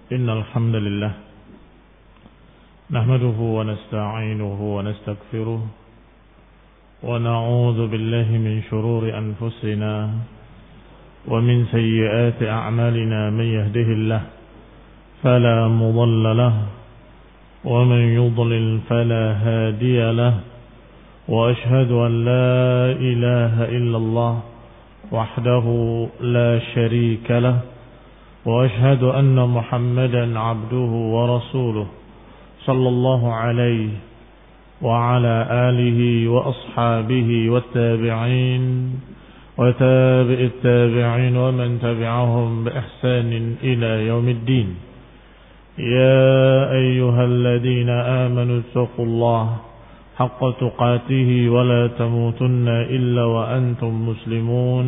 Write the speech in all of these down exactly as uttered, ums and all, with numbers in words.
إن الحمد لله نحمده ونستعينه ونستغفره ونعوذ بالله من شرور أنفسنا ومن سيئات أعمالنا. من يهده الله فلا مضل له ومن يضلل فلا هادي له وأشهد أن لا إله إلا الله وحده لا شريك له وأشهد أن محمدا عبده ورسوله صلى الله عليه وعلى آله وأصحابه والتابعين وتابع التابعين ومن تبعهم بإحسان إلى يوم الدين. يا أيها الذين آمنوا اتقوا الله حق تقاته ولا تموتن إلا وأنتم مسلمون.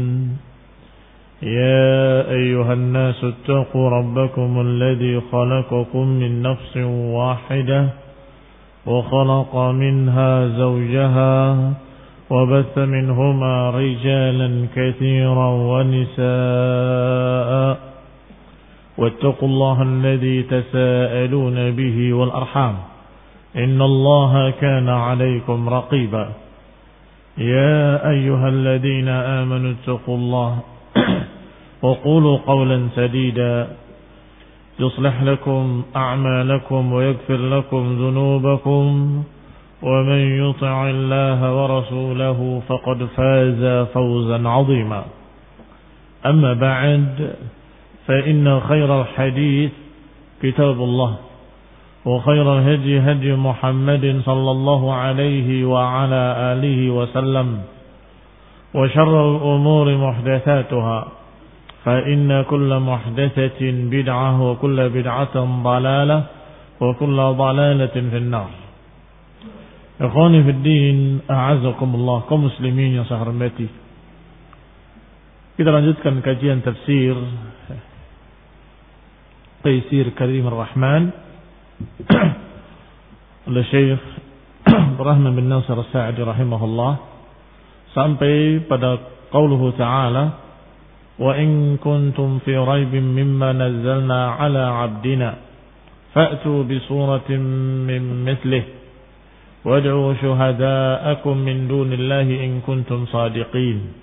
يا أيها الناس اتقوا ربكم الذي خلقكم من نفس واحدة وخلق منها زوجها وبث منهما رجالا كثيرا ونساء واتقوا الله الذي تساءلون به والأرحام إن الله كان عليكم رقيبا. يا أيها الذين آمنوا اتقوا الله وقولوا قولا سديدا يصلح لكم أعمالكم ويغفر لكم ذنوبكم ومن يطع الله ورسوله فقد فاز فوزا عظيما. أما بعد فإن خير الحديث كتاب الله وخير الهدي هدي محمد صلى الله عليه وعلى آله وسلم وشر الأمور محدثاتها فإن كل محدثة بدعة وكل بدعة ضلالة وكل ضلالة في النار. Ikhwani fi din, a'azakumullah, kaum muslimin yang saya hormati. Kita lanjutkan kajian tafsir Taisir Karim Ar-Rahman oleh Syekh Rahman bin Nasir As-Sa'di rahimahullah sampai pada qauluhu ta'ala wa in kuntum fi raibin mimma nazzalna ala 'abdina fa'tu bi suratin min mithlihi wad'u shuhada'akum min dunillahi in kuntum sadiqin.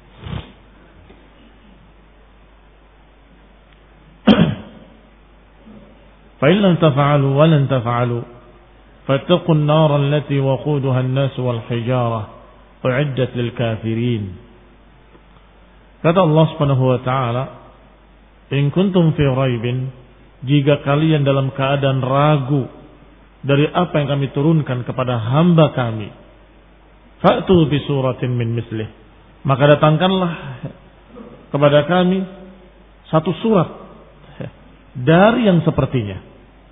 Fa in lam taf'alu wa lan taf'alu fattaqun nar allati waquduha an-nas wal hijarah u'iddat lil kafirin. Kata Allah Subhanahu wa taala, in kuntum fi raibin, jika kalian dalam keadaan ragu dari apa yang kami turunkan kepada hamba kami, fa'tu bi suratin min mislih, maka datangkanlah kepada kami satu surat dari yang sepertinya.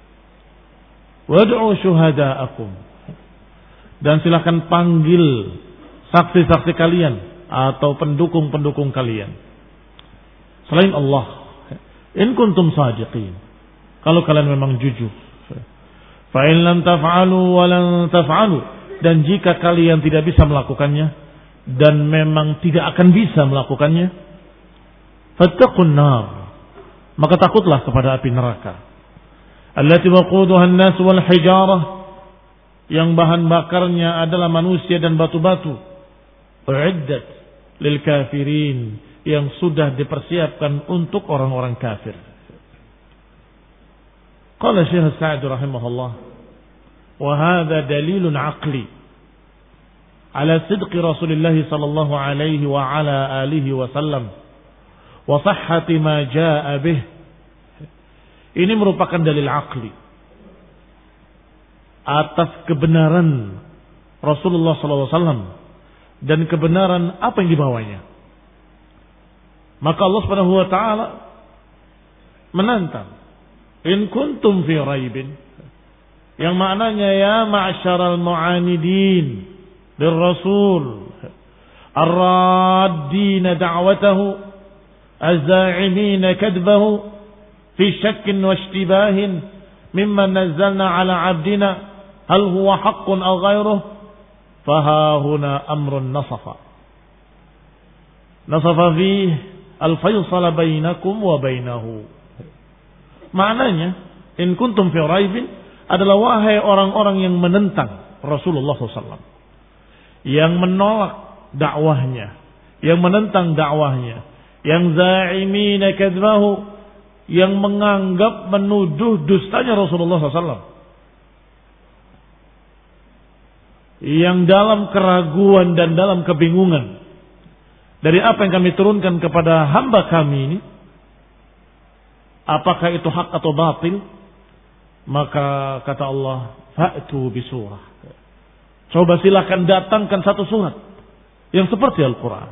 Wad'u syuhada'akum, dan silakan panggil saksi-saksi kalian atau pendukung-pendukung kalian selain Allah, in kuntum sadiqin, kalau kalian memang jujur. Fa in lam taf'alu wa lan taf'alu, dan jika kalian tidak bisa melakukannya dan memang tidak akan bisa melakukannya, fattaqun nar, maka takutlah kepada api neraka, allati waquduha an-nas wal hijarah, yang bahan bakarnya adalah manusia dan batu-batu, u'iddat lil kafirin, yang sudah dipersiapkan untuk orang-orang kafir. Qala Syekh Sa'di rahimahullah, wa hadha dalilun aqli ala sidqi Rasulillah sallallahu alaihi wa ala alihi wa sallam wa sihhati ma jaa bih. Ini merupakan dalil aqli atas kebenaran Rasulullah sallallahu alaihi wasallam dan kebenaran apa yang dibawanya. Maka Allah Subhanahu wa taala menantang, in kuntum fi raibin, yang maknanya ya ma'syaral mu'anidin lirrasul ar-raddina da'watahu az-za'imina kadbahu fi syakkin wa ishtibahin mimma nazzalna ala 'abdina hal huwa haqqun aw ghairuh faha huna amrun nasafa nasafa fihi al-faysal bainakum wa bainahu Maknanya, in kuntum fi raibin adalah wahai orang-orang yang menentang Rasulullah shallallahu alaihi wasallam, yang menolak dakwahnya, yang menentang dakwahnya, yang za'imina kadzbahu, yang menganggap menuduh dustanya Rasulullah shallallahu alaihi wasallam, yang dalam keraguan dan dalam kebingungan dari apa yang kami turunkan kepada hamba kami ini, apakah itu hak atau batil, maka kata Allah, fa'tu bisurah, coba silakan datangkan satu surat yang seperti Al-Quran.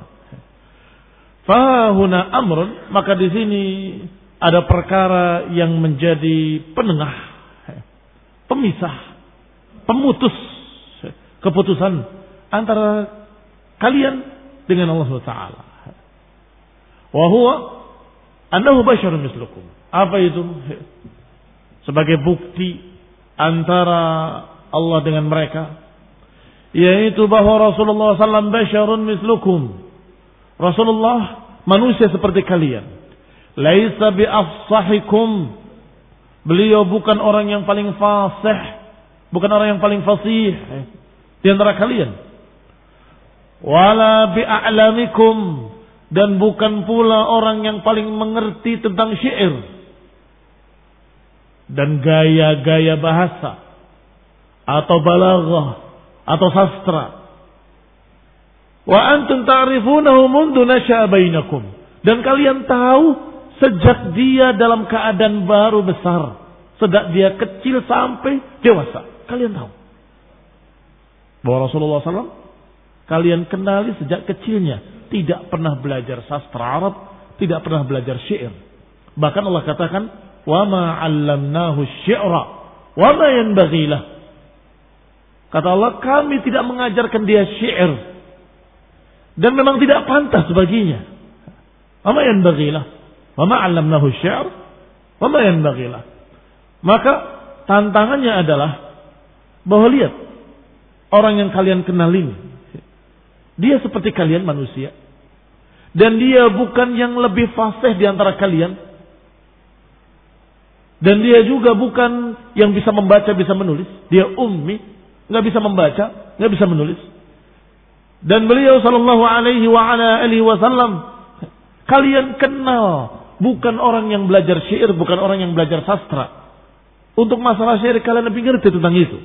Fahuna amrun, maka di sini ada perkara yang menjadi penengah, pemisah, pemutus keputusan antara kalian dengan Allah subhanahu wa taala. Wa huwa annahu basyarun mislukum. Apa itu? Sebagai bukti antara Allah dengan mereka, yaitu bahwa Rasulullah sallallahu alaihi wasallam basyarun mislukum. Rasulullah manusia seperti kalian. Laisa bi afsahikum. Beliau bukan orang yang paling fasih, bukan orang yang paling fasih di antara kalian. Wala bi a'lamikum, dan bukan pula orang yang paling mengerti tentang syair dan gaya-gaya bahasa atau balaghah atau sastra. Wa antum ta'rifunahu mundu nasha'a bainakum, dan kalian tahu sejak dia dalam keadaan baru besar, sejak dia kecil sampai dewasa, kalian tahu bahwa Rasulullah sallallahu alaihi wasallam kalian kenali sejak kecilnya, tidak pernah belajar sastra Arab, tidak pernah belajar syair. Bahkan Allah katakan, wa ma 'allamnahu syi'ra wa ma yanbaghi lah. Kata Allah, kami tidak mengajarkan dia syair, dan memang tidak pantas baginya. Wa ma yanbaghi lah. Wa ma 'allamnahu syi'r wa ma yanbaghi lah. Maka tantangannya adalah bahwa lihat orang yang kalian kenal ini, dia seperti kalian manusia, dan dia bukan yang lebih fasih di antara kalian, dan dia juga bukan yang bisa membaca bisa menulis. Dia ummi, nggak bisa membaca, nggak bisa menulis. Dan beliau sallallahu alaihi wa ala alihi wasallam kalian kenal bukan orang yang belajar syair, bukan orang yang belajar sastra. Untuk masalah syair kalian lebih ngerti tentang itu.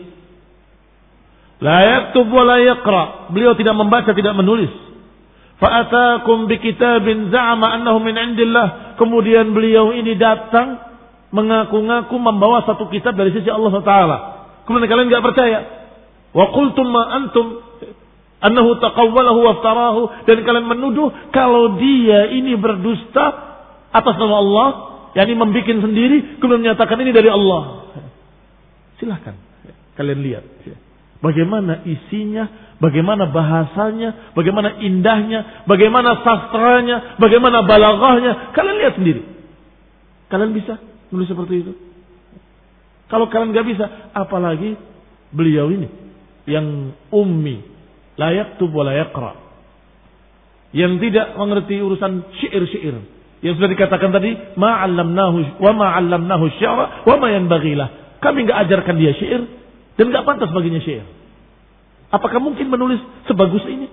La yaktub wa la yaqra. Beliau tidak membaca, tidak menulis. Fa'atakum bi kitabin za'ama annahu min indillah. Kemudian beliau ini datang mengaku-ngaku membawa satu kitab dari sisi Allah subhanahu wa taala. Kemudian kalian enggak percaya. Wa qultum ma antum annahu taqawwalahu wa iftarahu, dan kalian menuduh kalau dia ini berdusta atas nama Allah, yakni membuat sendiri kemudian menyatakan ini dari Allah. Silahkan kalian lihat bagaimana isinya, bagaimana bahasanya, bagaimana indahnya, bagaimana sastranya, bagaimana balaghahnya. Kalian lihat sendiri. Kalian bisa menulis seperti itu? Kalau kalian nggak bisa, apalagi beliau ini yang ummi, la yaktub wa la yaqra, yang tidak mengerti urusan syair-syair. Yang sudah dikatakan tadi, ma 'allamnahu wa ma 'allamnahu syi'ra wa ma yanbaghi lah. Kami nggak ajarkan dia syair, dan nggak pantas baginya syair. Apakah mungkin menulis sebagus ini?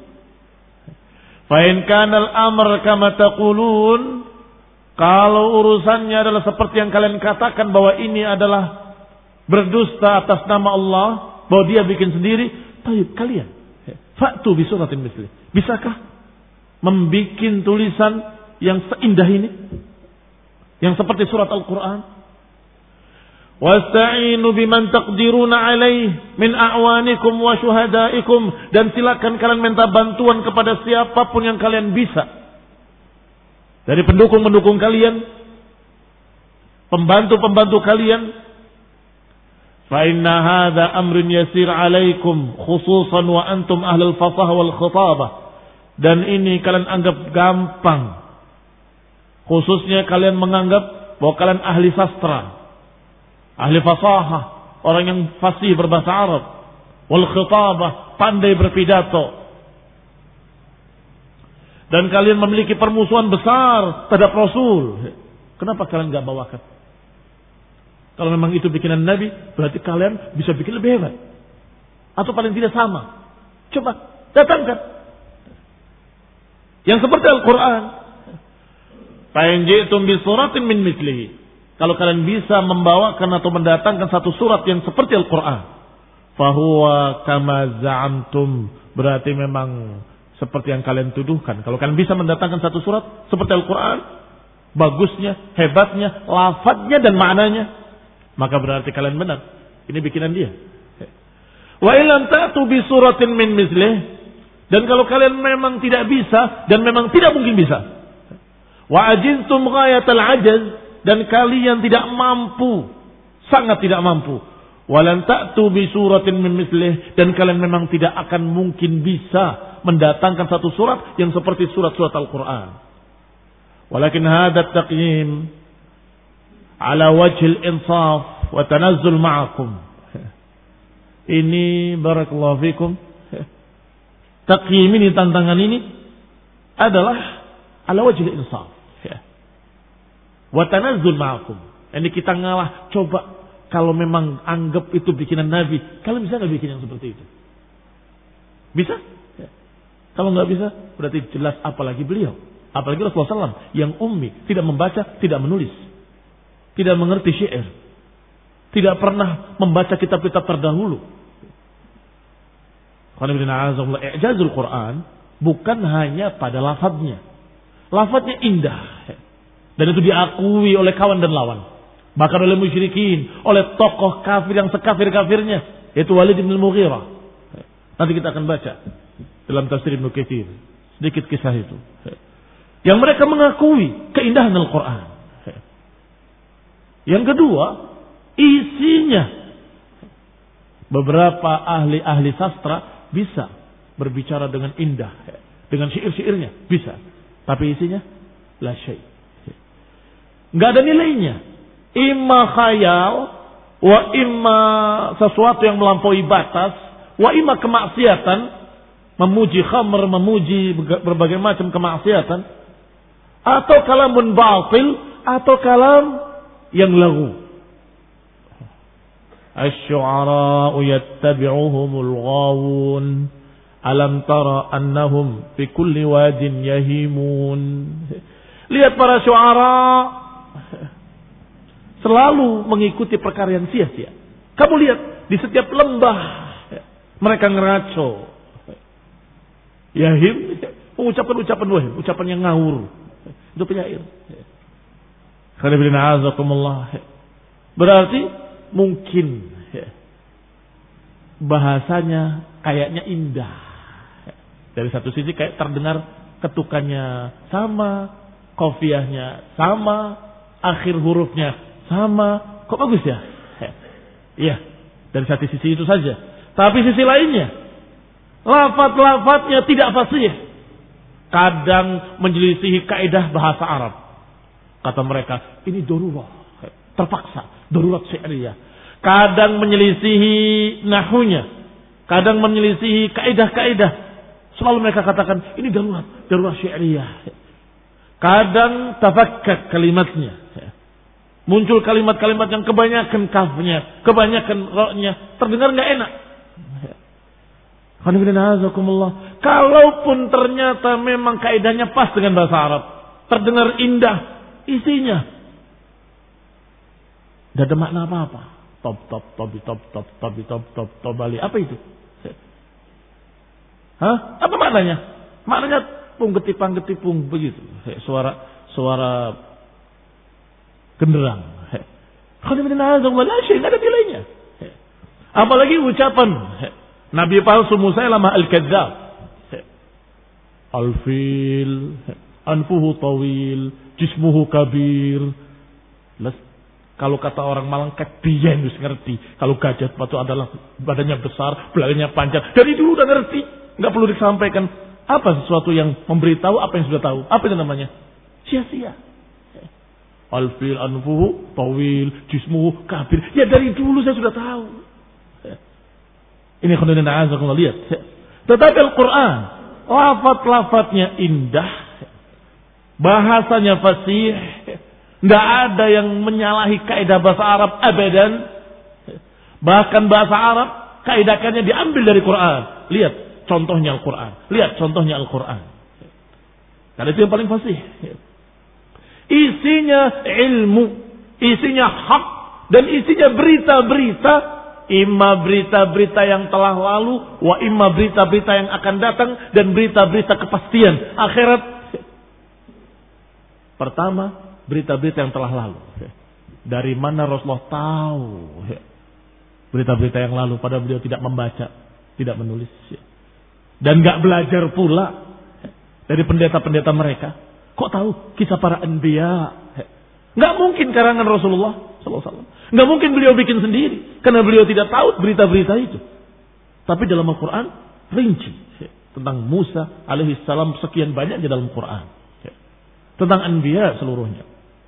Fa in kana al-amr kama taqulun, kalau urusannya adalah seperti yang kalian katakan bahwa ini adalah berdusta atas nama Allah, bahwa dia bikin sendiri, tayyib kalian fa'tu bi suratin misli. Bisakah membikin tulisan yang seindah ini, yang seperti surat Al-Qur'an? Wasta'inu biman taqdiruna alaih min a'wanikum wa syuhadaikum, dan silakan kalian minta bantuan kepada siapapun yang kalian bisa dari pendukung-pendukung kalian, pembantu-pembantu kalian. Fa inna hadza amrun yasir alaikum khususan wa antum ahlul fasah wal khitabah, dan ini kalian anggap gampang, khususnya kalian menganggap bahwa kalian ahli sastra, ahli fasahah, orang yang fasih berbahasa Arab, wal khitabah, pandai berpidato, dan kalian memiliki permusuhan besar terhadap Rasul. Kenapa kalian enggak bawakan? Kalau memang itu bikinan Nabi, berarti kalian bisa bikin lebih hebat. Atau paling tidak sama. Coba datangkan. Yang seperti Al-Quran. Fa'in ji'tum bi suratin min mislihi. Kalau kalian bisa membawakan atau mendatangkan satu surat yang seperti Al-Quran. Fahuwa kama za'amtum. Berarti memang seperti yang kalian tuduhkan. Kalau kalian bisa mendatangkan satu surat seperti Al-Quran. Bagusnya, hebatnya, lafadznya dan maknanya. Maka berarti kalian benar. Ini bikinan dia. Wa ilam ta'tu bi suratin min mislih. Dan kalau kalian memang tidak bisa dan memang tidak mungkin bisa. Wa ajintum ghayatal ajaz, dan kalian tidak mampu, sangat tidak mampu. Wa lan ta'tu bi suratin min mislih, dan kalian memang tidak akan mungkin bisa mendatangkan satu surat yang seperti surat-surat Al-Qur'an. Walakin hadha at-taqyim ala wajhil insaf wa tanazzul ma'akum. Ini barakallahu fikum. Taqyim ini, tantangan ini adalah ala wajhil insaf. Wa tanazzul ma'akum. Ini kita ngalah, coba kalau memang anggap itu bikinan Nabi, kalian bisa enggak bikin yang seperti itu? Bisa? Kalau enggak bisa, berarti jelas apalagi beliau. Apalagi Rasulullah sallallahu alaihi wasallam yang ummi, tidak membaca, tidak menulis. Tidak mengerti syair. Tidak pernah membaca kitab-kitab terdahulu. I'jazul Quran bukan hanya pada lafadznya. Lafadznya indah. Dan itu diakui oleh kawan dan lawan. Bahkan oleh musyrikin. Oleh tokoh kafir yang sekafir-kafirnya. Yaitu Walid bin Mughirah. Nanti kita akan baca dalam tafsir Ibnu Katsir sedikit kisah itu. Yang mereka mengakui keindahan Al-Quran. Yang kedua, isinya. Beberapa ahli-ahli sastra bisa berbicara dengan indah. Dengan syair-syairnya, bisa. Tapi isinya, la syai'. Nggak ada nilainya. Imma khayal, wa imma sesuatu yang melampaui batas, wa imma kemaksiatan, memuji khamr, memuji berbagai macam kemaksiatan, atau kalamun batil, atau kalam yang lagu. Asy-syu'ara'u yattabi'uhumul ghawun. Alam tara annahum fi kulli wadin yahimun. Lihat para syu'ara selalu mengikuti perkara yang sia-sia. Kamu lihat di setiap lembah mereka ngeraco. Yahim, mengucapkan ucapan wahim, ucapan yang ngawur. Itu penyair. Berarti mungkin bahasanya kayaknya indah. Dari satu sisi kayak terdengar ketukannya sama, qafiyahnya sama, akhir hurufnya sama. Kok bagus ya? Iya, dari satu sisi itu saja. Tapi sisi lainnya, lafaz-lafaznya tidak fasih. Kadang menyelisihi kaidah bahasa Arab. Kata mereka, ini darurat, terpaksa, darurat syi'riyah. Kadang menyelisihi nahunya, kadang menyelisihi kaidah-kaidah. Selalu mereka katakan, ini darurat, darurat syi'riyah. Kadang tafakkak kalimatnya. Muncul kalimat-kalimat yang kebanyakan kafnya, kebanyakan roknya, terdengar nggak enak. Kalaupun ternyata memang kaidahnya pas dengan bahasa Arab, terdengar indah, isinya tidak ada makna apa-apa. Top top top top top top top top top bali. Apa itu? Hah? Apa maknanya? Maknanya pung getipang getipung begitu. Suara suara genderang. Khadimina azza wa la syai' ada nilainya. Apalagi ucapan Nabi palsu Musailamah al-Kadzdzab. Al-fil, anfuhu tawil, jismuhu kabir. Kalau kata orang Malang kebiyen wis ngerti. Kalau gajah itu adalah badannya besar, belakangnya panjang. Dari dulu udah ngerti, enggak perlu disampaikan. Apa sesuatu yang memberitahu apa yang sudah tahu? Apa itu namanya? Sia-sia. Al-fil anfuhu tawil, jismuhu kabir. Ya dari dulu saya sudah tahu. Ini khondan azakumullah, lihat. Tetapi Al-Quran, lafaz-lafaznya indah, bahasanya fasih, Nggak ada yang menyalahi kaidah bahasa Arab abadan. Bahkan bahasa Arab kaidahnya diambil dari Quran. Lihat contohnya Al-Quran. Lihat contohnya Al-Quran. Karena itu yang paling fasih. Isinya ilmu, isinya hak, dan isinya berita-berita. Imma berita-berita yang telah lalu, wa imma berita-berita yang akan datang, dan berita-berita kepastian akhirat. Pertama, berita-berita yang telah lalu. Dari mana Rasulullah tahu berita-berita yang lalu, padahal beliau tidak membaca, tidak menulis, dan gak belajar pula dari pendeta-pendeta mereka. Kok tahu kisah para anbiya? Gak mungkin karangan Rasulullah sallallahu alaihi wasallam. Gak mungkin beliau bikin sendiri, karena beliau tidak tahu berita-berita itu. Tapi dalam Al-Quran rinci tentang Musa alaihissalam, sekian banyak di dalam Quran. Tentang anbiya seluruhnya.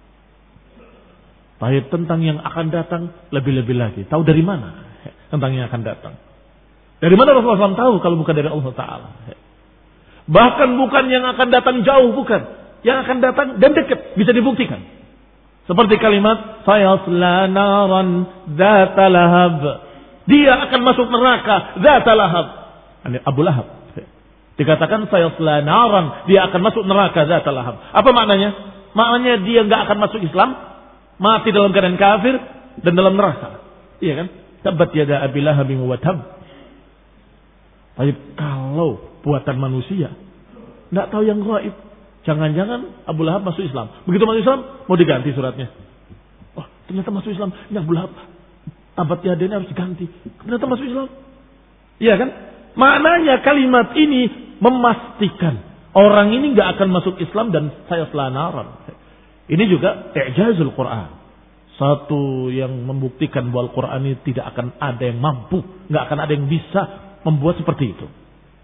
Baik tentang yang akan datang lebih-lebih lagi. Tahu dari mana tentang yang akan datang? Dari mana Rasulullah shallallahu alaihi wasallam tahu kalau bukan dari Allah Ta'ala? Bahkan bukan yang akan datang jauh, bukan. Yang akan datang dan dekat, bisa dibuktikan. Seperti kalimat sayasla naran dzata lahab. Dia akan masuk neraka dzata lahab. Abu Lahab. Dikatakan sayasla naran, dia akan masuk neraka dzata lahab. Apa maknanya? Maknanya dia enggak akan masuk Islam, mati dalam keadaan kafir dan dalam neraka. Iya kan? Tabat yada Abi Lahab wa tab. Tapi kalau buatan manusia, enggak tahu yang gaib. Jangan-jangan Abu Lahab masuk Islam. Begitu masuk Islam, mau diganti suratnya. Oh, ternyata masuk Islam. Ini Abu Lahab. Tabat yadanya harus diganti. Ternyata masuk Islam. Iya kan? Maknanya kalimat ini memastikan orang ini nggak akan masuk Islam dan saya selanaran. Ini juga i'jazul Quran. Satu yang membuktikan bahwa Al-Quran ini tidak akan ada yang mampu, nggak akan ada yang bisa membuat seperti itu.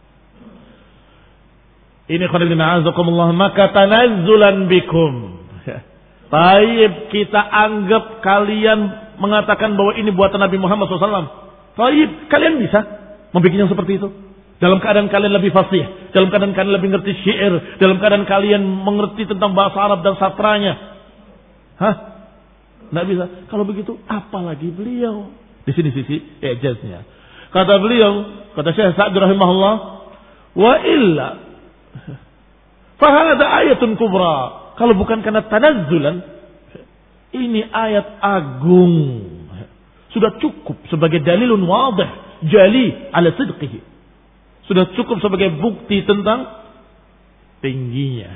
Ini khonilina azakumullah, maka tanazzulan bikum. Taib, kita anggap kalian mengatakan bahwa ini buatan Nabi Muhammad shallallahu alaihi wasallam. Taib, kalian bisa membuat yang seperti itu. Dalam keadaan kalian lebih fasih, dalam keadaan kalian lebih ngerti syair, dalam keadaan kalian mengerti tentang bahasa Arab dan sastranya. Hah? Nggak bisa. Kalau begitu, apalagi beliau. Di sini sisi ijaznya. Kata beliau, kata Syekh Sa'd rahimahullah, wa illa fahada ayatun kubra. Kalau bukan karena tanazzulan, ini ayat agung. Sudah cukup sebagai dalilun wadih, jali ala sidqihi. Sudah cukup sebagai bukti tentang tingginya,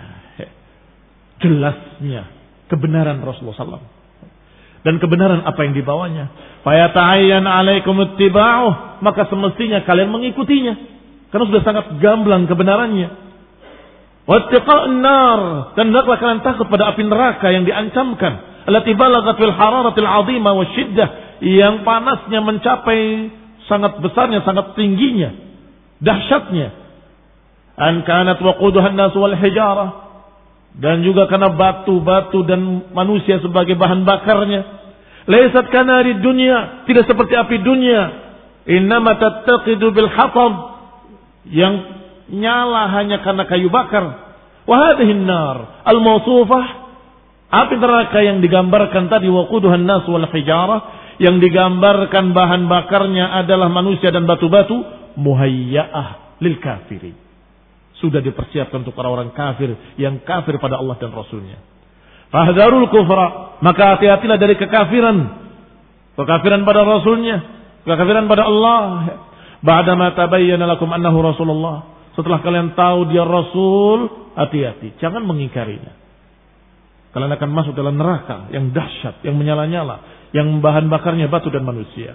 jelasnya kebenaran Rasulullah sallallahu alaihi wasallam dan kebenaran apa yang dibawanya. Fayata'ayyan alaikum ittiba'uh, maka semestinya kalian mengikutinya karena sudah sangat gamblang kebenarannya. Wattiqa'un nar, dan hendaklah kalian takut pada api neraka yang diancamkan, allati balaghat fil hararatil 'azimah wasyiddah, yang panasnya mencapai sangat besarnya, sangat tingginya, dahsyatnya. An kanat waquduhan nas wal hijarah, dan juga karena batu-batu dan manusia sebagai bahan bakarnya. Laisat kanari dunya, tidak seperti api dunia. Innama tattaqidu bil hatab, yang nyala hanya karena kayu bakar. Wa hadhihi an-nar al-mawsufah, api neraka yang digambarkan tadi, waquduhan nas wal hijarah, yang digambarkan bahan bakarnya adalah manusia dan batu-batu, muhayya'ah lil kafirin, sudah dipersiapkan untuk orang-orang kafir yang kafir pada Allah dan Rasulnya. Fahdharul kufra, maka hati-hatilah dari kekafiran, kekafiran pada Rasulnya, kekafiran pada Allah. Ba'dama tabayyana lakum annahu Rasulullah, setelah kalian tahu dia Rasul, hati-hati, jangan mengingkarinya. Kalian akan masuk dalam neraka yang dahsyat, yang menyala-nyala, yang bahan bakarnya batu dan manusia.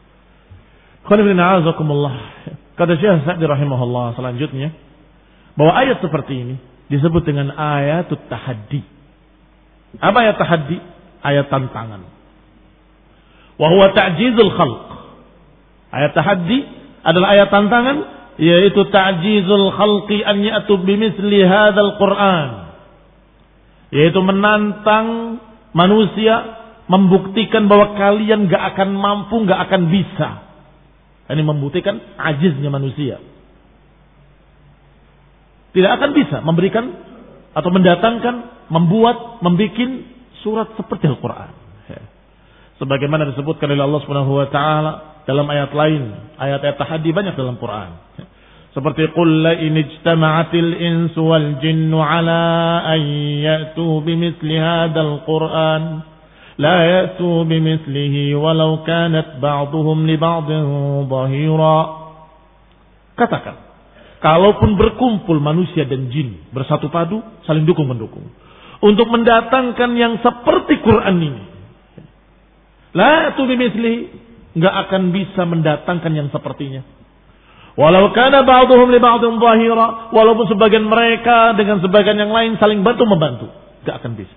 Kata Syekh Sa'd rahimahullah selanjutnya, bahwa ayat seperti ini disebut dengan ayatut tahaddi. Apa ayat tahaddi? Ayat tantangan. Wa huwa ta'jizul khalq. Ayat tahaddi adalah ayat tantangan, yaitu ta'jizul khalqi an ya'tu bimithli hadzal Qur'an, yaitu menantang manusia, membuktikan bahwa kalian gak akan mampu, gak akan bisa. Ini membuktikan ajiznya manusia. Tidak akan bisa memberikan atau mendatangkan, membuat, membikin surat seperti Al-Quran. Sebagaimana disebutkan oleh Allah Subhanahu wa taala dalam ayat lain, ayat-ayat tahaddi banyak dalam Quran. Seperti qul la in ijtama'atil insu wal jinnu ala an ya'tu bimithli hadzal Qur'an la ya'tu bimithlihi walau kanat ba'dhuhum li ba'dhin dhahira. Katakan, kalaupun berkumpul manusia dan jin bersatu padu saling dukung mendukung untuk mendatangkan yang seperti Quran ini, la ya'tu bimithlihi, enggak akan bisa mendatangkan yang sepertinya. Walau kana ba'dhum li ba'dhin dhahira, walaupun sebagian mereka dengan sebagian yang lain saling bantu membantu, enggak akan bisa.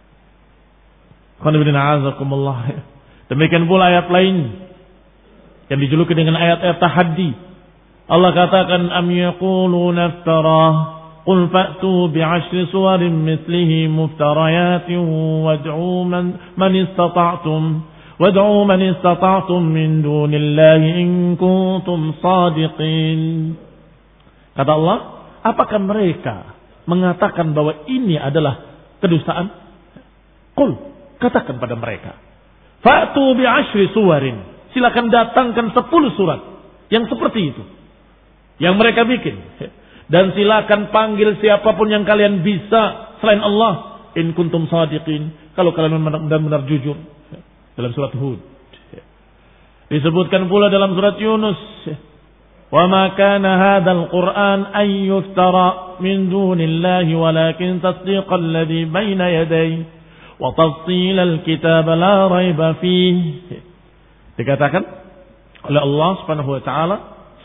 Demikian pula ayat lain yang dijuluki dengan ayat-ayat tahaddi. Allah katakan am yaquluna iftarah qul fa'tu bi'ashri suwarin mithlihi muftariyatin wad'u man man istata'tum wad'u man istata'tum min dunillahi in kuntum shadiqin. Kata Allah, apakah mereka mengatakan bahwa ini adalah kedustaan? Qul, katakan pada mereka, fa'tu bi'ashri suwarin, silakan datangkan sepuluh surat yang seperti itu yang mereka bikin, dan silakan panggil siapapun yang kalian bisa selain Allah, in kuntum shadiqin, kalau kalian benar-benar jujur. Dalam surat Hud disebutkan pula dalam surat Yunus, wa ma kana hadzal Qur'an an yuftara min dunillahi walakin tasdiqal ladzi baina yadayhi wa tafsilal kitab la raiba fihi. Dikatakan oleh Allah Subhanahu wa taala,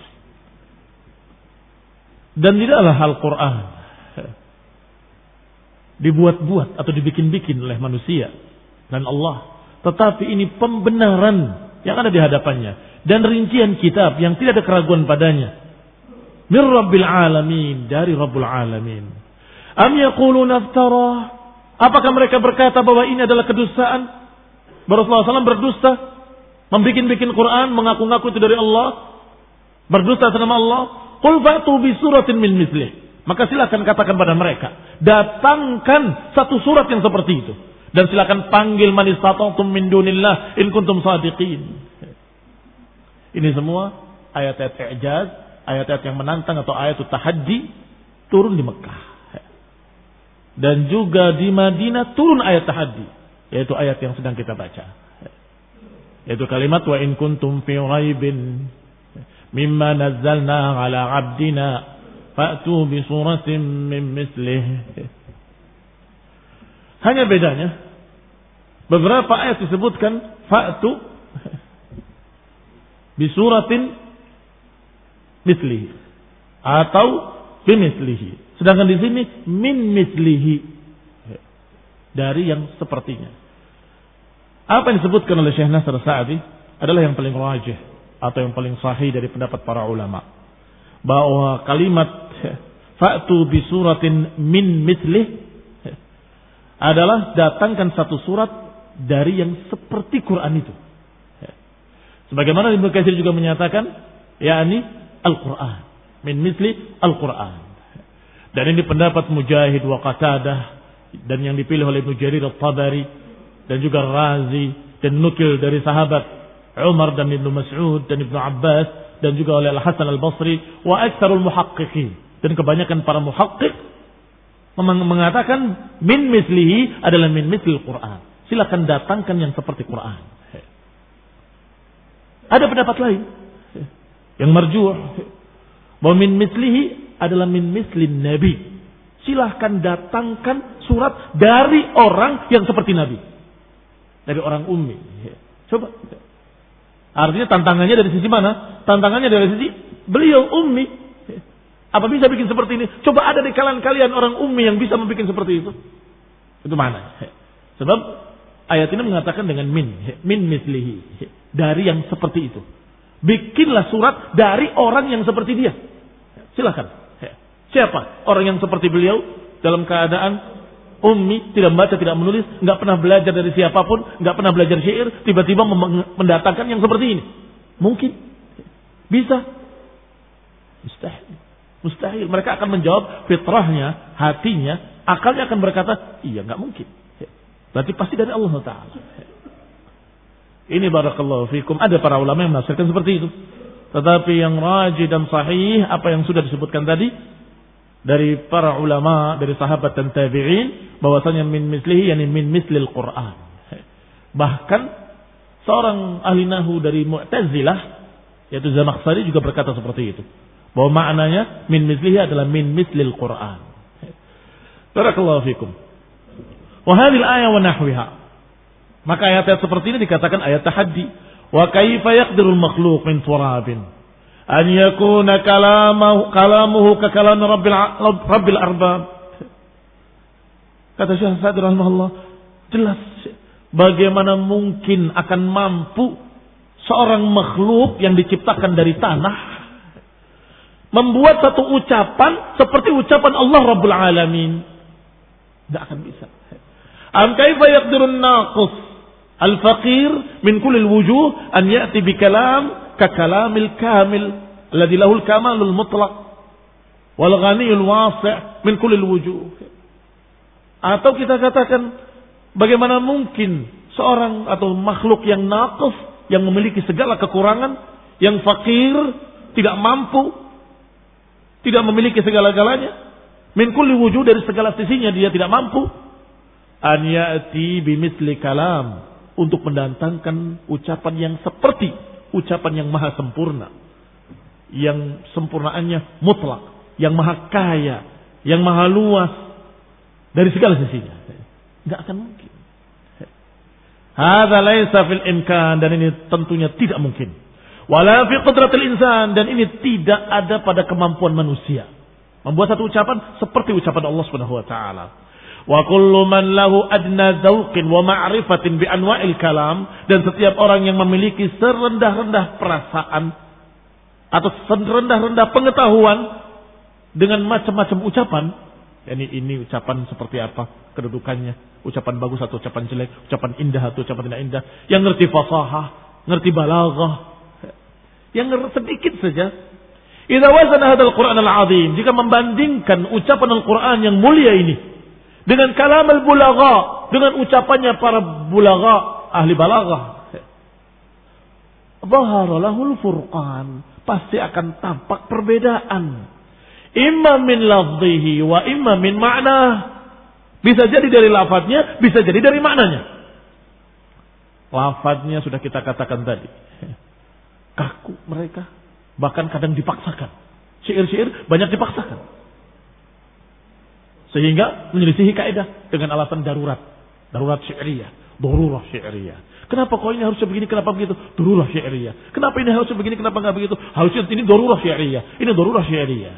dan tidaklah Al-Qur'an dibuat-buat atau dibikin-bikin oleh manusia dan Allah, tetapi ini pembenaran yang ada di hadapannya dan rincian kitab yang tidak ada keraguan padanya. Mir Rabbil Alamin, dari Rabbul Alamin. Am yaquluna iftara, apakah mereka berkata bahwa ini adalah kedustaan? Rasulullah shallallahu alaihi wasallam berdusta, membikin-bikin Quran, mengaku-ngaku itu dari Allah, berdusta atas nama Allah. Qul fa'tu bi suratin min mithlih, maka silakan katakan pada mereka, datangkan satu surat yang seperti itu. Dan silakan panggil man istata'tum min dunillah in kuntum shadiqin. Ini semua ayat-ayat i'jaz, ayat-ayat yang menantang atau ayat tahaddi turun di Mekah. Dan juga di Madinah turun ayat tahaddi, yaitu ayat yang sedang kita baca. Yaitu kalimat wa in kuntum fi raibin mimma nazzalna ala 'abdina fa'tu bi suratin min mithlih. Hanya bedanya, beberapa ayat disebutkan fa'tu bisuratin mislihi atau bimislihi, sedangkan di sini min mislihi, dari yang sepertinya. Apa yang disebutkan oleh Syekh Nasr Sa'di adalah yang paling rajih atau yang paling sahih dari pendapat para ulama, bahwa kalimat fa'tu bisuratin min mislihi adalah datangkan satu surat dari yang seperti Quran itu. Sebagaimana Ibnu Katsir juga menyatakan, yakni Al-Quran, min misli Al-Quran. Dan ini pendapat Mujahid wa Qatadah, dan yang dipilih oleh Ibnu Jarir At-Tabari dan juga Razi, dan nukil dari sahabat Umar dan Ibnu Mas'ud dan Ibnu Abbas, dan juga oleh Al-Hasan Al-Basri wa aktsarul muhaqqiqin, dan kebanyakan para muhaqqiq mengatakan min mislihi adalah min mislil Quran. Silakan datangkan yang seperti Quran. Ada pendapat lain yang marjuh, bahwa min mislihi adalah min mislin Nabi. Silahkan datangkan surat dari orang yang seperti Nabi, dari orang ummi. Coba, artinya tantangannya dari sisi mana? Tantangannya dari sisi beliau ummi. Apa bisa bikin seperti ini? Coba ada di kalangan kalian orang ummi yang bisa membuat seperti itu. Itu mana? Sebab ayat ini mengatakan dengan min, min mislihi, dari yang seperti itu. Bikinlah surat dari orang yang seperti dia. Silakan. Siapa orang yang seperti beliau dalam keadaan ummi, tidak membaca, tidak menulis, nggak pernah belajar dari siapapun, nggak pernah belajar syair, tiba-tiba mendatangkan yang seperti ini? Mungkin? Bisa? Mustahil. Mustahil. Mereka akan menjawab fitrahnya, hatinya, akalnya akan berkata, iya nggak mungkin. Berarti pasti dari Allah Ta'ala. Ini barakallahu fikum. Ada para ulama yang menafsirkan seperti itu. Tetapi yang rajih dan sahih, apa yang sudah disebutkan tadi, dari para ulama, dari sahabat dan tabi'in, bahwasanya min mislihi, yani min mislil Qur'an. Bahkan seorang ahli nahu dari Mu'tazilah, yaitu Zamakhsyari, juga berkata seperti itu. Bahwa maknanya min mislihi adalah min mislil Qur'an. Barakallahu fikum. Wa hadhil ayah wa nahwiha. Maka ayat-ayat seperti ini dikatakan ayat tahaddi. Wa kaifa yaqdirul makhluq min turabin an yakuna kalamuhu kalamuhu ka kalam rabbil rabbil arbab. Kata Syekh Sa'di rahimahullah, jelas bagaimana mungkin akan mampu seorang makhluk yang diciptakan dari tanah membuat satu ucapan seperti ucapan Allah Rabbul Alamin. Tidak akan bisa. Am kaifa yaqdirun naqis al-faqir min kulli al-wujuh an ya'ti bi kalam ka kalamil kamil alladhi lahu al-kamalul mutlaq wal ghaniyul wasi' min kulli al-wujuh. Atau kita katakan bagaimana mungkin seorang atau makhluk yang naqis, yang memiliki segala kekurangan, yang fakir, tidak mampu, tidak memiliki segala-galanya, min kulli wujuh, dari segala sisinya dia tidak mampu, an ya'ti bimithli kalam, untuk mendatangkan ucapan yang seperti ucapan yang maha sempurna, yang sempurnaannya mutlak, yang maha kaya, yang maha luas dari segala sisinya. Enggak akan mungkin. Hadza laisa fil imkan, dan ini tentunya tidak mungkin. Wala fi qudratil insan, dan ini tidak ada pada kemampuan manusia membuat satu ucapan seperti ucapan Allah Subhanahu wa taala. Wa kullu man lahu adna dzauqin wa ma'rifatin bi anwa'il kalam, dan setiap orang yang memiliki serendah-rendah perasaan atau serendah-rendah pengetahuan dengan macam-macam ucapan, yakni ini ucapan seperti apa kedudukannya, ucapan bagus atau ucapan jelek, ucapan indah atau ucapan tidak indah, yang ngerti fasahah, ngerti balaghah, yang ngerti sedikit saja. Idza wazana hadzal Qur'an al-'azim, jika membandingkan ucapan Al-Qur'an yang mulia ini dengan kalam al-bulagha, dengan ucapannya para bulagha, ahli balaghah, dhahara lahul furqan, pasti akan tampak perbedaan. Imma min lafzihi wa imma min ma'na. Bisa jadi dari lafadznya, bisa jadi dari maknanya. Lafadznya sudah kita katakan tadi, kaku mereka, bahkan kadang dipaksakan. Syair-syair banyak dipaksakan, sehingga menyelisihi kaidah dengan alasan darurat. Darurat syairiyah, darurah syairiyah. Kenapa kok ini harusnya begini, kenapa begitu? Darurah syairiyah. Kenapa ini harusnya begini, kenapa enggak begitu? Harusnya ini darurah syairiyah. Ini darurah syairiyah.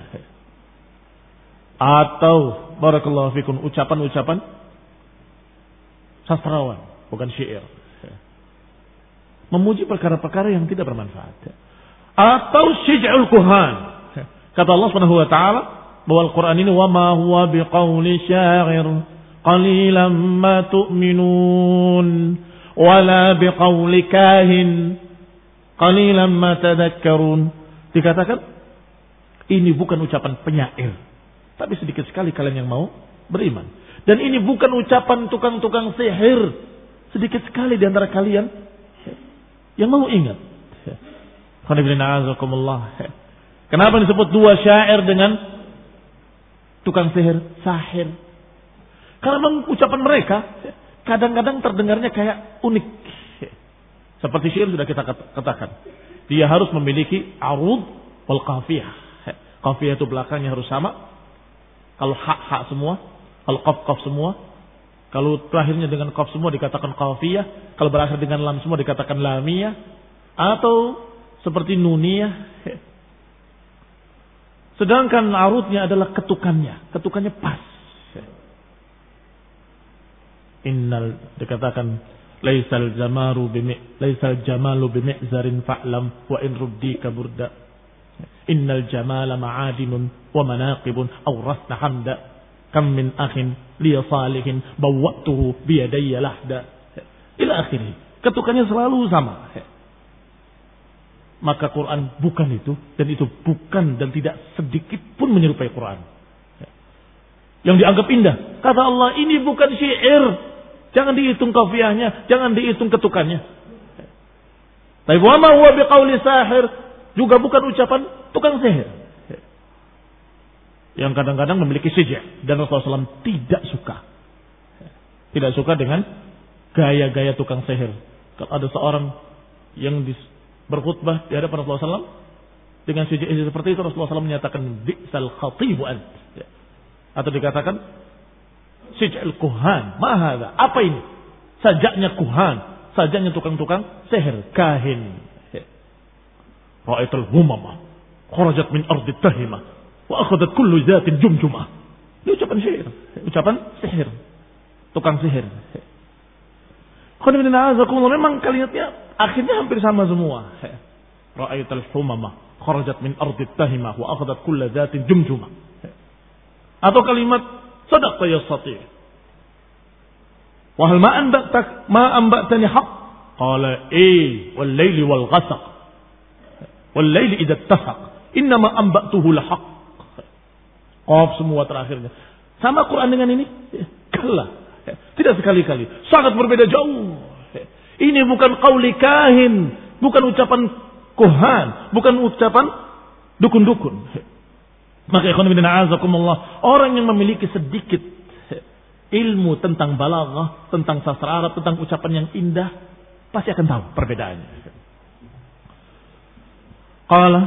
Atau barakallahu fikum, ucapan-ucapan sastrawan, bukan syair, memuji perkara-perkara yang tidak bermanfaat. Atau syij'ul kuhan. Kata Allah Subhanahu wa taala bahwa Al-Quran ini wa ma huwa biqauli syair qalilan ma tu'minun wala biqauli kahin qalilan ma tadhakkarun. Dikatakan ini bukan ucapan penyair, tapi sedikit sekali kalian yang mau beriman. Dan ini bukan ucapan tukang-tukang sihir, sedikit sekali di antara kalian yang mau ingat. Kenapa disebut dua syair dengan tukang sihir, sahir? Karena memang ucapan mereka kadang-kadang terdengarnya kayak unik. Seperti syair sudah kita katakan, dia harus memiliki arud wal qafiyah. Qafiyah itu belakangnya harus sama. Kalau hak-hak semua, kalau qaf-qaf semua, kalau terakhirnya dengan qaf semua dikatakan qafiyah, kalau berakhir dengan lam semua dikatakan lamiyah, atau seperti nuniyah. Sedangkan arudnya adalah ketukannya, ketukannya pas. Innal, dikatakan laisal jamaru bimi laisal jamalu bimi'zarin fa'lam wa in ruddika burda. Innal jamala ma'adinun wa manaqibun awrasna hamda kam min akhin li salihin bawwatuhu bi yadayya lahda ila akhirih. Ketukannya selalu sama. Maka Quran bukan itu, dan itu bukan dan tidak sedikit pun menyerupai Quran yang dianggap indah. Kata Allah, ini bukan syair, Jangan dihitung kafiahnya, jangan dihitung ketukannya. Tapi wa ma huwa biqauli sahir juga bukan ucapan tukang sihir. Yang kadang-kadang memiliki sijah dan Rasulullah shallallahu alaihi wasallam tidak suka. Tidak suka dengan gaya-gaya tukang sihir. Kalau ada seorang yang berkhutbah di hadapan Rasulullah shallallahu alaihi wasallam dengan sijah seperti itu, Rasulullah shallallahu alaihi wasallam menyatakan bi'sal khatibu ant. Atau dikatakan sij'al kuhan. Ma hadza? Apa ini? Sajaknya kuhan, sajaknya tukang-tukang sihir, kahin. Ra'aitul humamah kharajat min ardi tahimah wa akhadhat kullu zatin jumjumah. Ini ucapan sihir, ucapan sihir, tukang sihir. Memang kalimatnya akhirnya hampir sama semua. Ra'aitul humamah kharajat min ardi tahimah wa akhadhat kullu zatin jumjumah. Atau kalimat sadaqta yastati. Wa hal ma anba'tak ma anba'tani haqq? Qala eh wal laili wal ghasaq. Wal laili idza ittafaq. Innama anba'tuhu la haqq. Qaf semua terakhirnya. Sama Quran dengan ini? Kalla. Tidak sekali-kali. Sangat berbeda jauh. Ini bukan qauli kahin, bukan ucapan kuhan, bukan ucapan dukun-dukun. Maka ikhwan fillah azakumullah, orang yang memiliki sedikit ilmu tentang balaghah, tentang sastra Arab, tentang ucapan yang indah, pasti akan tahu perbedaannya. Qala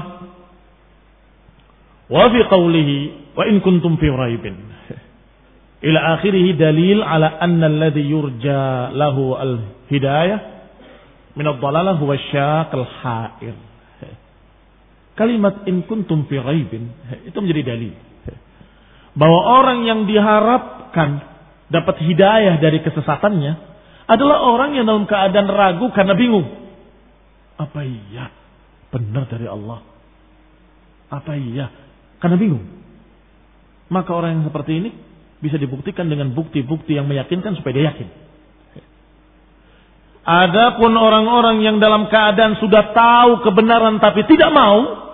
wa fi qawlihi wa in kuntum fi raibin ila akhirih dalil ala anna alladhi yurja lahu al-hidayah min ad-dhalalah huwa asy-syaq al-ha'ir. Kalimat in kuntum fi raibin itu menjadi dalil bahwa orang yang diharapkan dapat hidayah dari kesesatannya adalah orang yang dalam keadaan ragu karena bingung. Apa iya benar dari Allah? Apa iya? Karena bingung. Maka orang yang seperti ini bisa dibuktikan dengan bukti-bukti yang meyakinkan supaya dia yakin. Adapun orang-orang yang dalam keadaan sudah tahu kebenaran tapi tidak mau,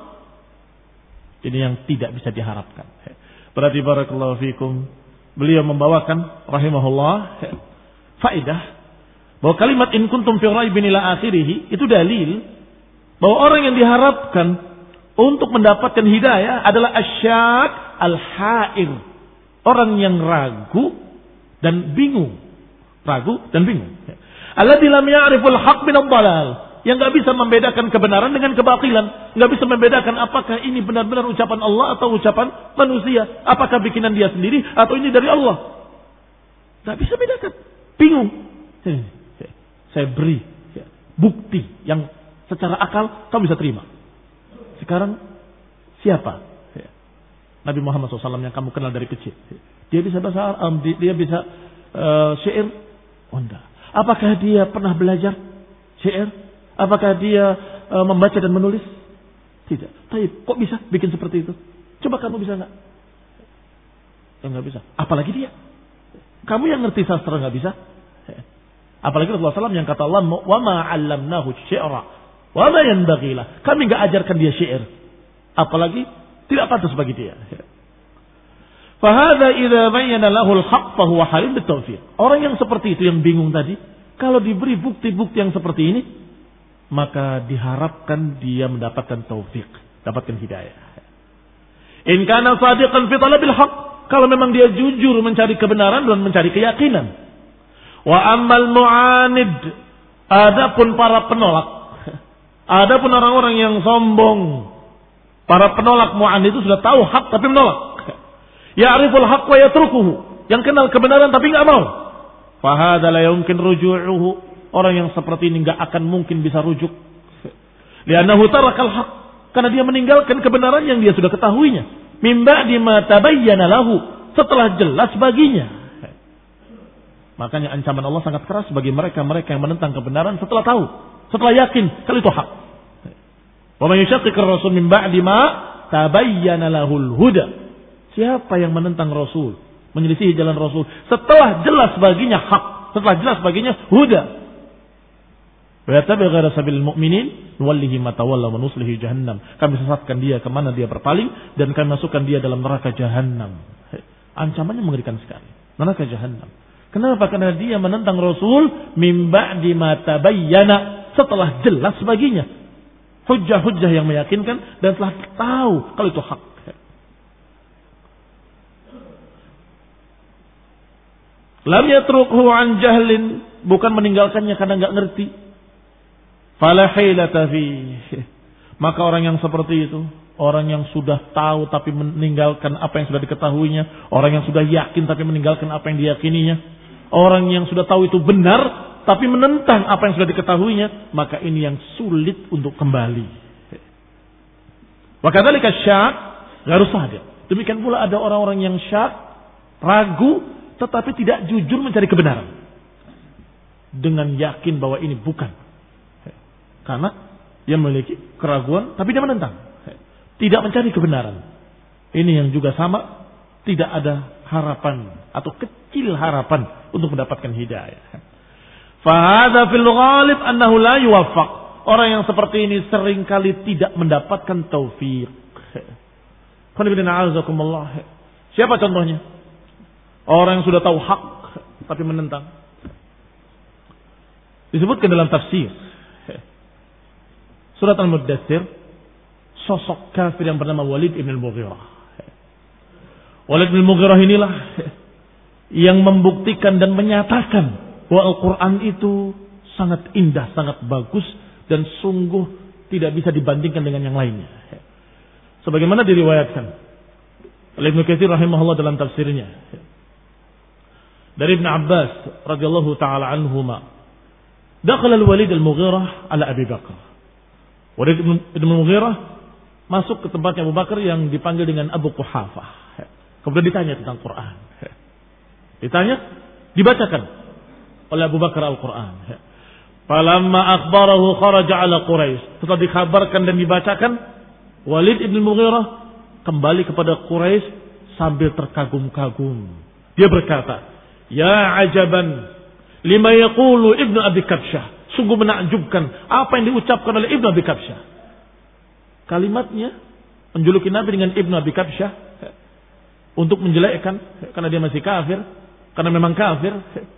ini yang tidak bisa diharapkan. Berarti barakallahu fikum, beliau membawakan rahimahullah faedah bahwa kalimat in kuntum fi raibin ila akhirih itu dalil bahwa orang yang diharapkan untuk mendapatkan hidayah adalah asyak al-ha'ir, orang yang ragu dan bingung, ragu dan bingung. Alladzi lam ya'riful haqq min ad-dhalal, yang enggak bisa membedakan kebenaran dengan kebatilan, enggak bisa membedakan apakah ini benar-benar ucapan Allah atau ucapan manusia, apakah bikinan dia sendiri atau ini dari Allah. Enggak bisa bedakan, bingung. Saya beri bukti yang secara akal kamu bisa terima. Sekarang siapa? Nabi Muhammad shallallahu alaihi wasallam yang kamu kenal dari kecil. Dia bisa bahasa Arab, dia bisa uh, syair. Oh enggak. Apakah dia pernah belajar syair? Apakah dia uh, membaca dan menulis? Tidak. Tapi kok bisa bikin seperti itu? Coba kamu bisa enggak? Enggak bisa. Apalagi dia. Kamu yang ngerti sastra enggak bisa? Apalagi Rasulullah shallallahu alaihi wasallam yang kata Allah, "Wa ma 'allamnahu syi'ra wa ma yanbaghi lah." Kami enggak ajarkan dia syair. Apalagi tidak pantas bagi dia. Fahadha idza bayyana lahu al-haqq fa huwa halim bitawfiq. Orang yang seperti itu yang bingung tadi, kalau diberi bukti-bukti yang seperti ini, maka diharapkan dia mendapatkan taufik, dapatkan hidayah. In kana sadiqan fi talabil haqq, kalau memang dia jujur mencari kebenaran dan mencari keyakinan. Wa ammal mu'anid, adapun para penolak, adapun orang-orang yang sombong, para penolak mu'anid itu sudah tahu hak tapi menolak. Ya'riful haqq wa yatrukuhu, yang kenal kebenaran tapi enggak mau. Fa hadza la yumkin ruju'uhu, orang yang seperti ini enggak akan mungkin bisa rujuk. Li'annahu tarakal haqq, karena dia meninggalkan kebenaran yang dia sudah ketahuinya. Min ba'di ma tabayyana lahu, setelah jelas baginya. Makanya ancaman Allah sangat keras bagi mereka-mereka yang menentang kebenaran setelah tahu, setelah yakin kalau itu hak. Wa man yushaqiqir rasul min ba'di ma tabayyana lahul huda. Siapa yang menentang Rasul, menyelisihi jalan Rasul setelah jelas baginya hak, setelah jelas baginya huda. Wa yattabi' ghaira sabilil mu'minin nuwallihi ma tawalla wa nuslihi jahannam. Kami sesatkan dia kemana dia berpaling dan kami masukkan dia dalam neraka jahannam. Ancamannya mengerikan sekali. Neraka jahannam. Kenapa? Karena dia menentang Rasul mim ba'di ma tabayyana, setelah jelas baginya hujjah-hujjah yang meyakinkan dan telah tahu kalau itu hak. Lam yatrukhu an jahlin, bukan meninggalkannya karena enggak ngerti. Fala hilata fi. Maka orang yang seperti itu, orang yang sudah tahu tapi meninggalkan apa yang sudah diketahuinya, orang yang sudah yakin tapi meninggalkan apa yang diyakininya, orang yang sudah tahu itu benar tapi menentang apa yang sudah diketahuinya, maka ini yang sulit untuk kembali. Wa kadzalika syak gharu shadiq. Demikian pula ada orang-orang yang syak, ragu tetapi tidak jujur mencari kebenaran dengan yakin bahwa ini bukan, karena dia memiliki keraguan tapi dia menentang, tidak mencari kebenaran. Ini yang juga sama, tidak ada harapan atau kecil harapan untuk mendapatkan hidayah. Fahadha fil ghalib annahu la yuwaffaq. Orang yang seperti ini seringkali tidak mendapatkan taufik. Siapa contohnya? Orang yang sudah tahu hak tapi menentang. Disebutkan dalam tafsir Surat Al-Muddatsir, sosok kafir yang bernama Walid ibn al-Mughirah. Walid ibn al-Mughirah inilah yang membuktikan dan menyatakan bahwa Al-Quran itu sangat indah, sangat bagus, dan sungguh tidak bisa dibandingkan dengan yang lainnya. Sebagaimana diriwayatkan oleh Ibnu Katsir rahimahullah dalam tafsirnya dari Ibn Abbas radhiyallahu taala anhuma, dakhala al-Walid al-Mughirah ala Abi Bakar. Walid ibn al-Mughirah masuk ke tempatnya Abu Bakar yang dipanggil dengan Abu Quhafah. Kemudian ditanya tentang Quran. Ditanya, dibacakan oleh Abu Bakar Al-Quran. Falamma akhbarahu kharaja ala Quraisy. Setelah dikabarkan dan dibacakan, Walid ibn al-Mughirah kembali kepada Quraisy sambil terkagum-kagum. Dia berkata, "Ya ajaban lima yaqulu Ibnu Abi Kabsyah." Sungguh menakjubkan apa yang diucapkan oleh Ibnu Abi Kabsyah. Kalimatnya menjuluki Nabi dengan Ibnu Abi Kabsyah untuk menjelekkan karena dia masih kafir, karena memang kafir.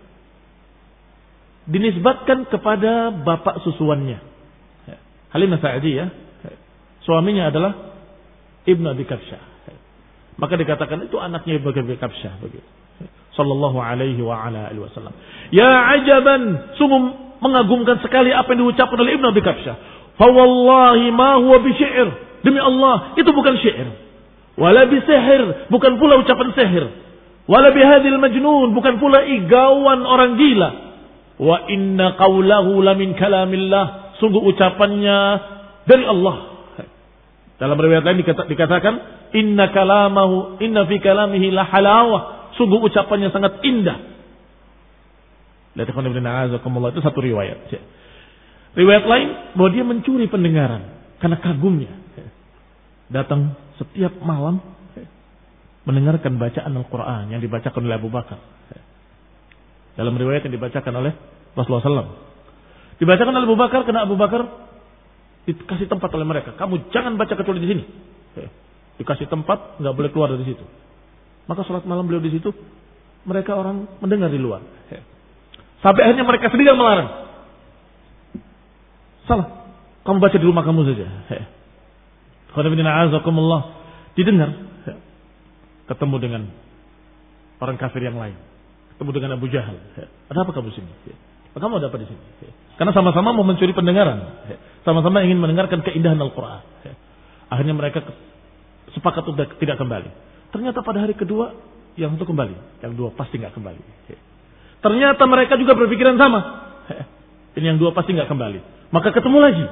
Dinisbatkan kepada bapak susuannya, Halimah Sa'diyah. Suaminya adalah Ibnu Abi Kabsyah. Maka dikatakan itu anaknya Ibnu Abi Kabsyah begitu. Sallallahu alaihi wa ala alihi wasallam. Ya ajaban, sungguh mengagumkan sekali apa yang diucapkan oleh Ibnu Abi Kabsyah. Fa wallahi ma huwa bi syair. Demi Allah, itu bukan syair. Wala bi sihir, bukan pula ucapan sihir. Wala bi hadhil majnun, bukan pula igauan orang gila. Wa inna qawlahu la min kalamillah, sungguh ucapannya dari Allah. Dalam riwayat lain dikatakan inna kalamahu inna fi kalamihi la halawah, sungguh ucapannya sangat indah. Itu satu riwayat. Riwayat lain bahwa dia mencuri pendengaran karena kagumnya. Datang setiap malam mendengarkan bacaan Al-Quran yang dibacakan oleh Abu Bakar. Dalam riwayat yang dibacakan oleh Rasulullah shallallahu alaihi wasallam. Dibacakan oleh Abu Bakar karena Abu Bakar dikasih tempat oleh mereka. Kamu jangan baca kecuali di sini. Dikasih tempat, nggak boleh keluar dari situ. Maka sholat malam beliau di situ, mereka orang mendengar di luar. Sampai akhirnya mereka sendiri yang melarang. Salah, kamu baca di rumah kamu saja. Didengar, ketemu dengan orang kafir yang lain, ketemu dengan Abu Jahal. Ada apa kamu sini? Kamu ada apa di sini? Karena sama-sama mau mencuri pendengaran, sama-sama ingin mendengarkan keindahan Al-Quran. Akhirnya mereka sepakat untuk tidak kembali. Ternyata pada hari kedua yang satu kembali, yang dua pasti nggak kembali. Ternyata mereka juga berpikiran sama. Ini yang dua pasti nggak kembali. Maka ketemu lagi.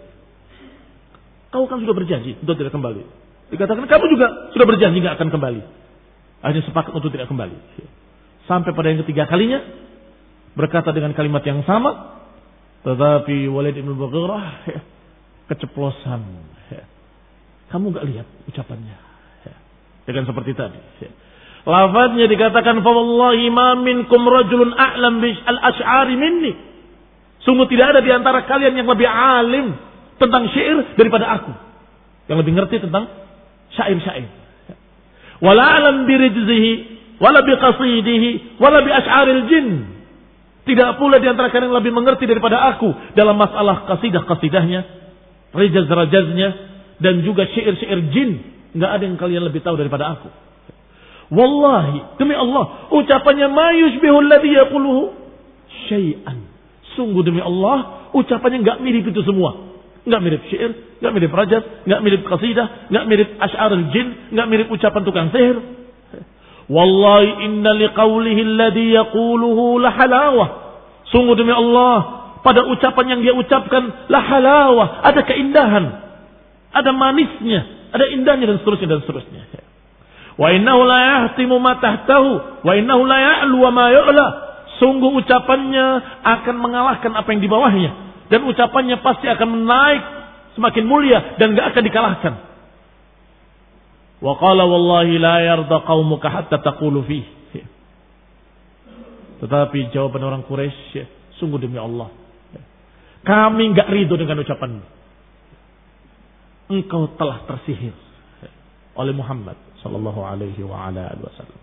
Kau kan sudah berjanji untuk tidak kembali. Dikatakan kamu juga sudah berjanji nggak akan kembali. Akhirnya sepakat untuk tidak kembali. Sampai pada yang ketiga kalinya berkata dengan kalimat yang sama, tetapi Walid ibn Mughirah keceplosan. Kamu nggak lihat ucapannya? Dengan seperti tadi. Lafaznya dikatakan fa wallahi ma minkum rajulun a'lam bil al-asy'ari minni. Sungguh tidak ada di antara kalian yang lebih alim tentang syair daripada aku. Yang lebih ngerti tentang syair-syair. Wala alam birijzihi wala bi qasidihi, wala bi asy'aril jin. Tidak pula di antara kalian yang lebih mengerti daripada aku dalam masalah qasidah-qasidahnya, rajaz-rajaznya, dan juga syair-syair jin. Enggak ada yang kalian lebih tahu daripada aku. Wallahi, demi Allah, ucapannya ma yushbihu alladhi yaquluhu syai'an. Sungguh demi Allah, ucapannya enggak mirip itu semua. Enggak mirip syair, enggak mirip rajaz, enggak mirip qasidah, enggak mirip asy'arul jin, enggak mirip ucapan tukang sihir. Wallahi inna liqaulihi alladhi yaquluhu la halawah. Sungguh demi Allah, pada ucapan yang dia ucapkan la halawah, ada keindahan, ada manisnya, ada indahnya dan seterusnya dan seterusnya. Wa innahu la yahtimu ma tahtahu wa innahu la ya'lu wa ma yu'la. Sungguh ucapannya akan mengalahkan apa yang di bawahnya, dan ucapannya pasti akan menaik semakin mulia dan enggak akan dikalahkan. Wa qala wallahi la yarda qaumuka hatta taqulu fihi. Tetapi jawaban orang Quraisy, sungguh demi Allah, kami enggak ridho dengan ucapanmu. Engkau telah tersihir oleh Muhammad sallallahu alaihi wa ala alihi wasallam.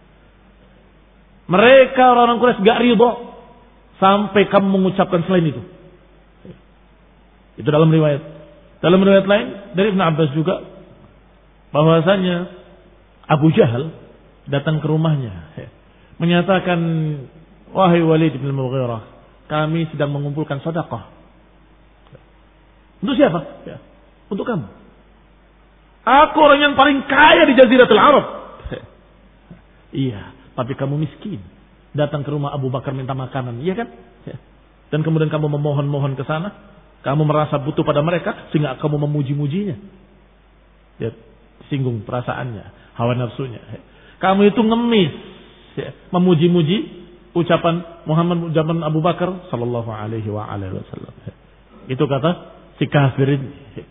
Mereka orang-orang Quraisy enggak ridho sampai kamu mengucapkan selain itu. Itu dalam riwayat. Dalam riwayat lain dari Ibnu Abbas juga, bahwasanya Abu Jahal datang ke rumahnya menyatakan, wahai Walid bin Mughirah, kami sedang mengumpulkan sedekah. Untuk siapa? Ya, untuk kamu. Aku orang yang paling kaya di Jaziratul Arab. Iya, tapi kamu miskin. Datang ke rumah Abu Bakar minta makanan, iya kan? Dan kemudian kamu memohon-mohon ke sana. Kamu merasa butuh pada mereka sehingga kamu memuji-mujinya. Ya, singgung perasaannya, hawa nafsunya. Kamu itu ngemis, ya, memuji-muji ucapan Muhammad zaman Abu Bakar sallallahu alaihi wa alihi wasallam. Itu kata si kafir ini.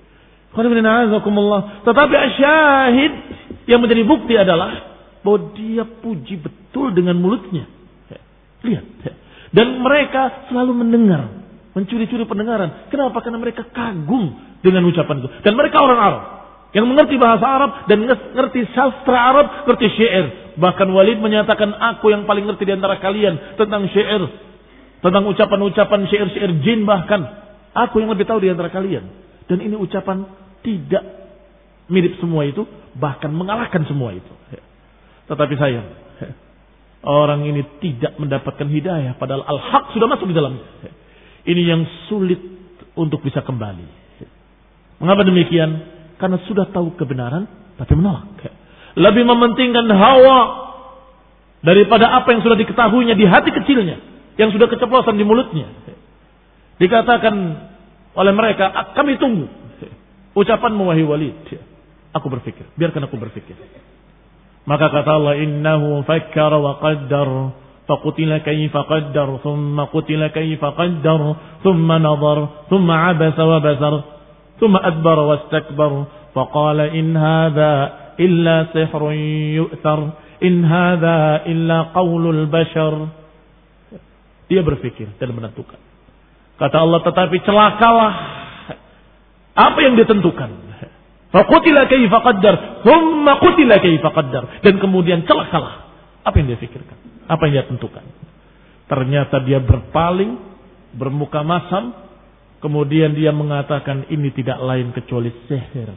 Tetapi asyahid yang menjadi bukti adalah bahwa dia puji betul dengan mulutnya. Lihat. Dan mereka selalu mendengar, mencuri-curi pendengaran. Kenapa? Karena mereka kagum dengan ucapan itu. Dan mereka orang Arab yang mengerti bahasa Arab dan mengerti sastra Arab, mengerti syair. Bahkan Walid menyatakan, aku yang paling ngerti di antara kalian tentang syair, tentang ucapan-ucapan syair-syair jin bahkan. Aku yang lebih tahu di antara kalian. Dan ini ucapan tidak mirip semua itu, bahkan mengalahkan semua itu. Tetapi sayang, orang ini tidak mendapatkan hidayah, padahal al-haq sudah masuk di dalamnya. Ini yang sulit untuk bisa kembali. Mengapa demikian? Karena sudah tahu kebenaran, tapi menolak. Lebih mementingkan hawa daripada apa yang sudah diketahuinya di hati kecilnya, yang sudah keceplosan di mulutnya. Dikatakan oleh mereka, kami tunggu ucapanmu wahai Walid. Aku berpikir, biarkan aku berpikir. Maka kata Allah, innahu fakkara wa qaddar, faqutila kayfa qaddar, thumma qutila kayfa qaddar, thumma nadhar, thumma abasa wa basar, thumma adbara wastakbar, faqala in hadha illa sihrun yu'thar, in hadha illa qawlul bashar. Dia berpikir dan menentukan. Kata Allah, tetapi celakalah apa yang ditentukan. Faqutila kayfa qaddar, thumma qutila kayfa qaddar, dan kemudian celakalah apa yang dia pikirkan, apa yang dia tentukan. Ternyata dia berpaling, bermuka masam, kemudian dia mengatakan ini tidak lain kecuali sihir.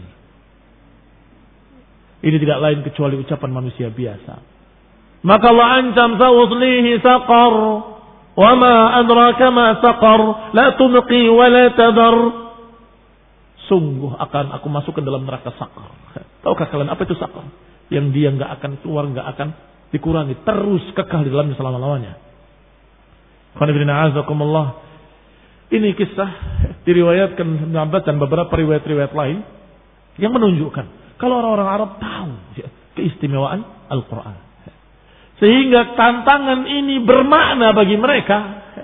Ini tidak lain kecuali ucapan manusia biasa. Maka Allah ancam, sa'uslihi saqar, wa ma adraka ma saqar, la tunqi wa la tadar. Sungguh akan aku masukkan dalam neraka sakar. Tahukah kalian apa itu sakar? Yang dia enggak akan keluar, enggak akan dikurangi, terus kekal di dalamnya selama-lamanya. Ini kisah diriwayatkan Ibnu Abbas dan beberapa riwayat-riwayat lain yang menunjukkan kalau orang-orang Arab tahu keistimewaan Al-Quran, sehingga tantangan ini bermakna bagi mereka,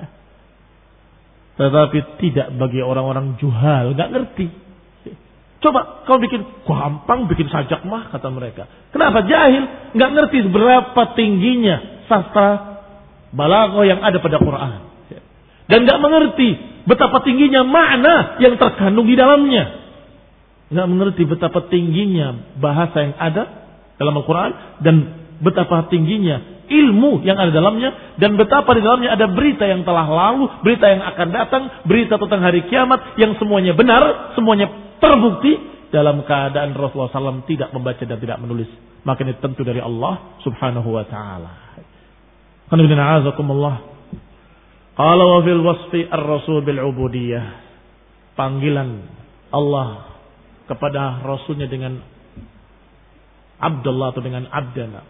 tetapi tidak bagi orang-orang juhal, nggak ngerti. Coba kau bikin gampang, bikin sajak mah, kata mereka. Kenapa? Jahil, nggak ngerti berapa tingginya sastra balaghah yang ada pada Quran, dan nggak mengerti betapa tingginya makna yang terkandung di dalamnya. Nggak mengerti betapa tingginya bahasa yang ada dalam Al-Quran dan betapa tingginya ilmu yang ada dalamnya, dan betapa di dalamnya ada berita yang telah lalu, berita yang akan datang, berita tentang hari kiamat yang semuanya benar, semuanya terbukti dalam keadaan Rasulullah shallallahu alaihi wasallam tidak membaca dan tidak menulis. Maka ini tentu dari Allah subhanahu wa ta'ala. Qala wa fil wasfi ar-rasul bil ubudiyah. Panggilan Allah kepada Rasulnya dengan Abdullah atau dengan Abdana.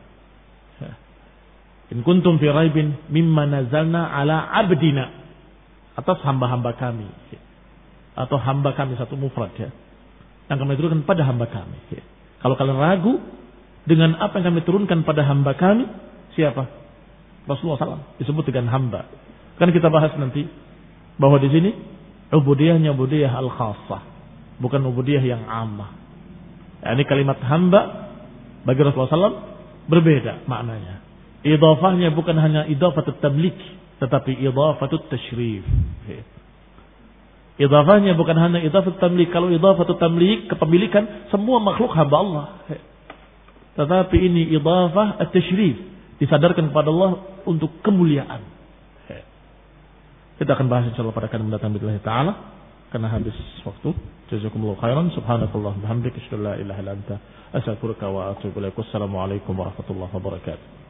In kuntum fi raibin mimma nazalna ala abdina, atas hamba-hamba kami, atau hamba kami satu mufrad ya, yang kami turunkan pada hamba kami. Kalau kalian ragu dengan apa yang kami turunkan pada hamba kami, siapa? Rasulullah shallallahu alaihi wasallam disebut dengan hamba. Kan kita bahas nanti bahwa di sini ubudiyahnya ubudiyah al-khassah, bukan ubudiyah yang ammah. Ya, ini kalimat hamba bagi Rasulullah shallallahu alaihi wasallam berbeda maknanya. Idhafahnya bukan hanya idhafatut tamlik, tetapi idhafatut tashrif. Idhafahnya bukan hanya idhafatut tamlik. Kalau idhafatut tamlik, kepemilikan, semua makhluk hamba Allah. Tetapi ini idhafah at-tashrif, disadarkan kepada Allah untuk kemuliaan. Kita akan bahas insyaallah pada kali mendatang billahi taala karena habis waktu. Jazakumullahu khairan. Subhanakallah bihamdika asyhadu an la ilaha illa anta astaghfiruka wa atubu ilaik. Wassalamu alaikum warahmatullahi wabarakatuh.